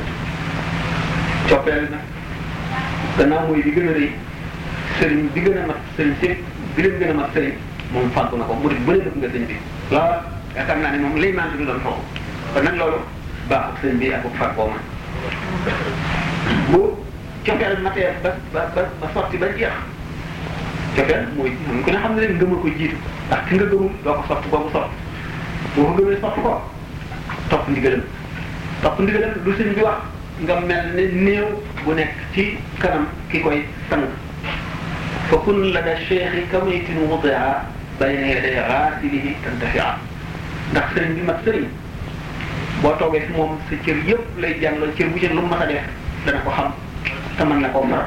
cofeel na gannaaw mooy di gën a rëy sëriñ bi gën a mat sëriñ sépp bi leen gën a mat sëriñ moom fàggu na ko murid bu ne def nga sëñ bi lool yaakaar naa ne moom lay maan du doon foofu kon nag loolu baaxul sëñ bi ak far boo man bu cofeel matee ba ba ba sotti ba jeex cofeel mooy xam ku ne xam ne rek ngëm a ko jiitu ndax ki nga gëmul doo ko sotti boobu sotti boo ko gëmee sotti ko topp ndigalam topp ndigalam lu sëñ bi wax nga mel ne néew bu nekk ci kanam ki koy sang fa kun la da cheikhi kamaytin wudia bayna yaday xaasilihi tantafia ndax sëriñ bi mat sëriñ boo toogee fi moom sa cër yëpp lay jàngal cër bu ci lu mu mas a def dana ko xam te mën na koo faral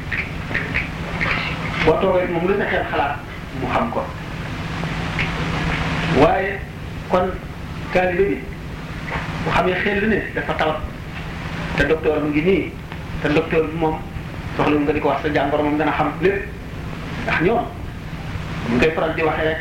boo toogee fi moom lu sa xel xalaat mu xam ko waaye kon taalibe bi bu xamee xel ne dafa tawat te docteur mu ngi nii te docteur bi moom soxla nga di ko wax sa jàngoro moom dana xam lépp ndax ñoom mu koy faral di waxee rek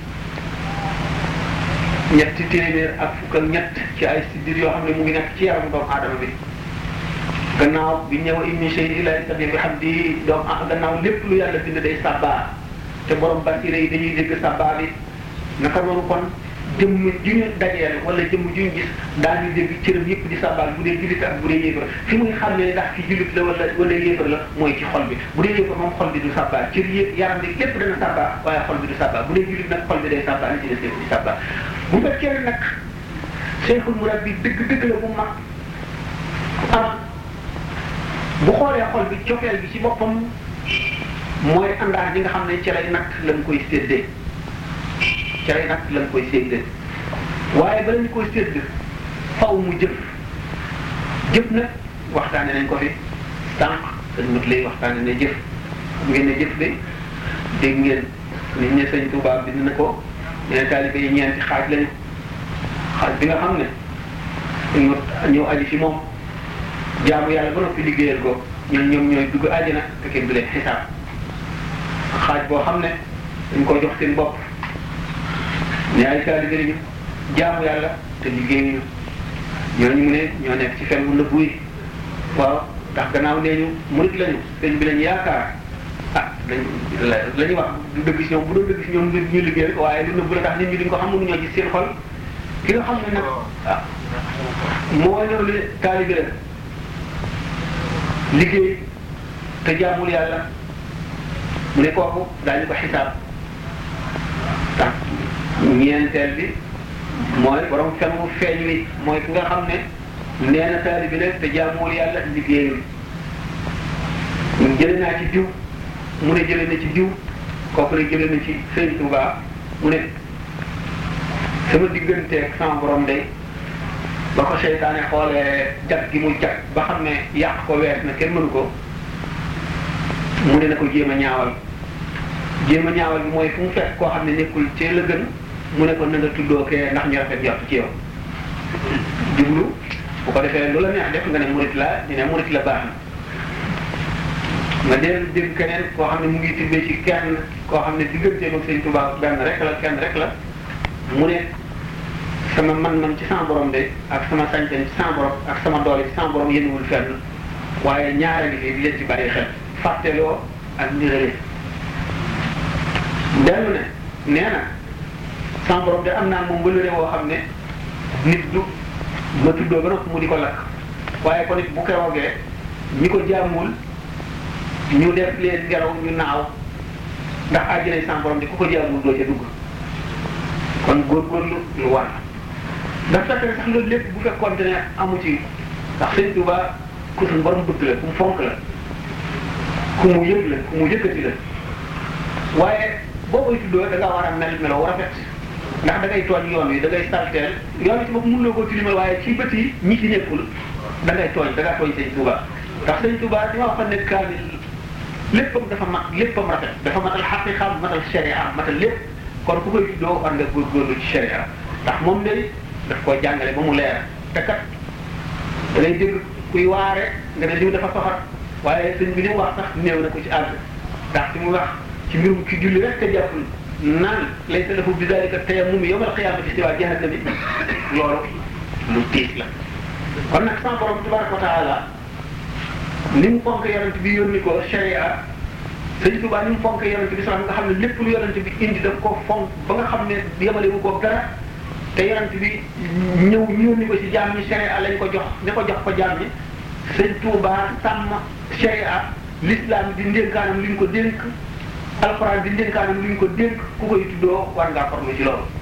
ñetti téeméer ak fukk ak ñett ci ay siddir yoo xam ne mu ngi nekk ci yaramu doomu aadama bi gannaaw bi ñëw immi shay'in illa yusabbihu bihamdihi doomu ah gannaaw lépp lu yàlla bind day sàbbaa te borom basira yi dañuy dégg sàbbaa bi naka noonu kon jëmm ju ñu dajeel wala jëmm ju ñu gis daañu dégg cëram yëpp di sàbbaal bu dee jullit ak bu dee yéefar fi muy xam ne ndax fi jullit la wala wala yéefar la mooy ci xol bi bu dee yéefar moom xol bi du sàbbaal cër yëpp yaram bi lépp dana sàbbaal waaye xol bi du sàbbaal bu dee jullit nag xol bi day sàbbaal li ci des lépp di sàbbaal bu fekkee nag Cheikhul Murabbi dëgg dëgg la bu mag am bu xoolee xol bi cofeel bi ci boppam mooy àndaar bi nga xam ne ci lay nag lañ koy séddee ci lay nag lañ koy séddee waaye bala ñu koy sédd faw mu jëf jëf nag waxtaane nañ ko fi sànq dañ mut lay waxtaane ne jëf xam ngeen ne jëf bi dégg ngeen nit ñi sëñ Tuubaa bind na ko ñene taalibe yi ñeenti xaaj lañu xaaj bi nga xam ne ñu ñëw aji ci moom jaamu yàlla ba noppi liggéeyal ko ñun ñoom ñooy dugg àjjana te kenn du leen xisaab xaaj boo xam ne dañ ko jox seen bopp ne ay taalibe lañu jaamu yàlla te liggéeyuñu ñooñu mu ne ñoo nekk ci fen bu nëbbu yi waaw ndax gannaaw nee ñu murit lañu sëñ bi lañu yaakaar ah lañ la ñuy wax du dëgg si ñoom bu doon dëgg si ñoom ñu liggéey rek waaye lu nëbbu la tax nit ñi duñ ko xam mënuñoo gis seen xol ki nga xam ne nag ah moo ñëw li taalibe la liggéey te jaamul yàlla mu ne kooku daañu ko xisaab tax ñeenteel bi mooy borom fen mu feeñ wi mooy ki nga xam ne nee na taalibe la te jaamul yàlla liggéeyul jële naa ci diw mu ne jële na ci diw kooku ne jële na ci Sëñ Tuubaa mu ne sama digganteeg sama borom day ba ko seytaane xoolee jag gi mu jag ba xam ne yàq ko wees na kenn mënu ko mu ne na ko jéem a ñaawal jéem a ñaawal bi mooy fu mu fekk koo xam ne nekkul ci la gën mu ne ko na nga tuddoo kee ndax ñu rafet jot ci yow jublu bu ko defee lu la neex def nga ne murit la ñu ne murit la baax na nga dellu dégg keneen koo xam ne mu ngi tibbee ci kenn koo xam ne digganteem ak Sëñ Tuubaa benn rek la kenn rek la mu ne sama man-man ci sama borom de ak sama sañ-sañ ci sama borom ak sama doole ci sama borom yénwul fenn waaye ñaare ngi fi di leen ci bàyyi xel fàtteloo ak nirale dellu ne nee na sama borom de am naa moom wëlëre woo xam ne nit du ma tuddoo ba noppi mu di ko lakk waaye kon it bu keroogee ñi ko jaamul ñu def leen ngelaw ñu naaw ndax àjjana sama borom de ku ko jaamul doo ca dugg kon góorgóorlu lu war dafa fekk sax loolu lépp bu fekkoonte ne amu ci ndax Sëñ Tuubaa ku suñ borom bëgg la ku mu fonk la ku mu yëg la ku mu yëkkati la waaye boo koy tuddoo da ngaa war a mel meloo rafet ndax da ngay tooñ yoon wi da ngay salteel yoon wi ci bopp mënuloo koo tilimal waaye ci bët yi ñi ci nekkul da ngay tooñ da ngaa tooñ Sëñ Tuubaa ndax Sëñ Tuubaa di ma waxoon ne kaamil léppam dafa mat léppam rafet dafa matal xaqiqa matal sharia matal lépp kon ku koy tuddoo war nga góorgóorlu ci sharia ndax moom ne daf koo jàngale ba mu leer te kat da ngay dégg kuy waare nga ne diw dafa soxor waaye sëñ bi ni mu wax sax néew na ko ci àgg ndax ci mu wax ci mbirum ki julli rek te jàppul naan laysa lahu bi dalika tayammum yawmal qiyaamati siwaa jahannami loolu lu tiis la kon nag sama borom tabaraka wa taala ni mu fonk yonent bi yónni ko sharia Sëñ Tuubaa ni mu fonk yonent bi sax nga xam ne lépp lu yonent bi indi daf ko fonk ba nga xam ne yemale wu ko dara te yonent bi ñëw ñëw ni ko ci jaam ñi sharia lañ ko jox ne ko jox ko jaam ñi sëñ Tuubaa sàmm sharia l'islam di ndénkaanam li ñu ko dénk alxuraan di ndénkaanam li ñu ko dénk ku koy tuddoo war ngaa farlu ci loolu.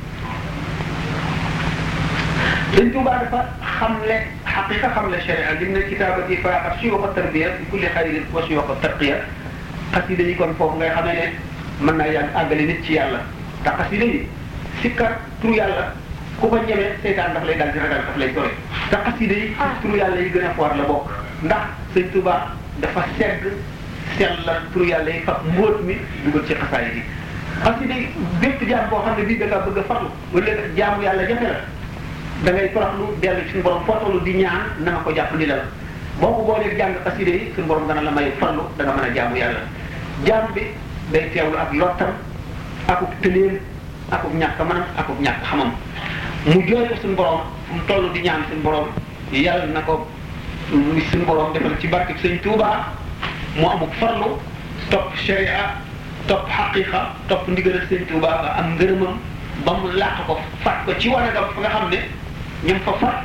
sëñ Tuubaa dafa xamle xaqiqa xamle sharia lim ne kitaabati faaqat suyuuxa tarbiya bi kulli xayrin wa suyuuxa tarqiya xasida yi kon foofu ngay xamee ne mën naa yàgg àggale nit ci yàlla ndax xasida yi sikkar turu yàlla ku ko ñemee seytaan daf lay dal di ragal daf lay sore te xasida yi turu yàlla yi gën a foor la bokk ndax sëñ Tuubaa dafa segg sellal turu yàlla yi fa mbóot mi dugal ci xasaayid yi xasida yi bépp jaam boo xam ne bii da ngaa bëgg a farlu wala jaamu yàlla jafe la da ngay toroxlu dellu suñu borom footalu di ñaan na nga ko jàpp ni la boo ko boolee jàng xasida yi suñu borom dana la may farlu da nga mën a jaamu yàlla jaam bi day teewlu ak lottam akuk tëleem akuk ñàkk manam akuk ñàkk xamam mu jooy ko suñu borom mu toll di ñaan suñu borom yàlla na ko suñu borom defal ci barke sëñ Tuubaa mu amuk farlu topp sharia topp xaqiqa topp ndigalal sëñ Tuubaa ba am ngërëmam ba mu làq ko fat ko ci wanagam fa nga xam ne ñoom fa fat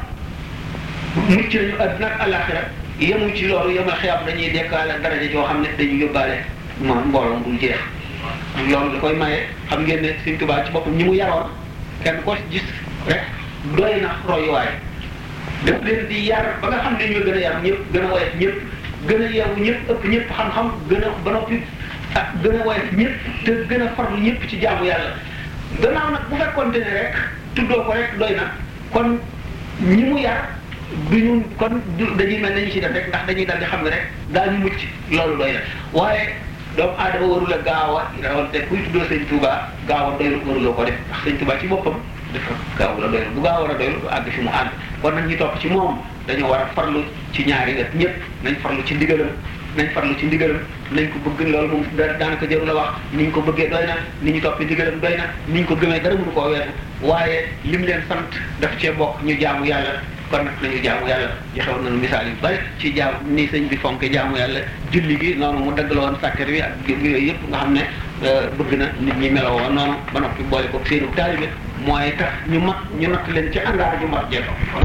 mucc nañu àdduna ak àllaaxira yemu ci loolu yemal xiyam dañuy dekkaale daraja joo xam ne dañuy yóbbaale mo mbooloo bul jeex loolu da koy maye xam ngeen ne sëñ Tuubaa ci boppam ñi mu yaroon kenn ko gis rek doy na royuwaay daf leen di yar ba nga xam ne ñoo gën a yar ñëpp gën a woyof ñëpp gën a yeewu ñëpp ëpp ñëpp xam-xam gën a ba noppi ak gën a woyof ñëpp te gën a farlu ñëpp ci jaamu yàlla gannaaw nag bu fekkoonte ne rek tuddoo ko rek doy na kon ñi mu yar duñu kon dañuy mel nañu ci def rek ndax dañuy dal di xam ne rek daañu mucc loolu doy na waaye doomu aadama warul a gaaw a rawante kuy tuddoo sëñ Tuubaa gaaw a doylu waruloo ko def ndax sëñ Tuubaa ci boppam dafa gaaw la doylu bu gaaw war a doylu du àgg fi mu àgg kon nag ñi topp ci moom dañoo war a farlu ci ñaari wet ñëpp nañ farlu ci ndigalam nañ farlu ci ndigalam nañ ko bëgg loolu moom daanaka jarul a wax ni ñu ko bëggee doy na ni ñu toppi ndigalam doy na ni ñu ko gëmee dara mënu koo weesu waaye lim leen sant daf cee bokk ñu jaamu yàlla kon nag nañu jaamu yàlla joxewoon nañu misaal yu bari ci jaam ni sëñ bi fonke jaamu yàlla julli gi noonu mu dagg la woon sàkkar wi ak yooyu yëpp nga xam ne bëgg na nit ñi meloo woon noonu ba noppi boole ko seenu taalibe mooy tax ñu mat ñu natt leen ci àndaar ju mat jeexo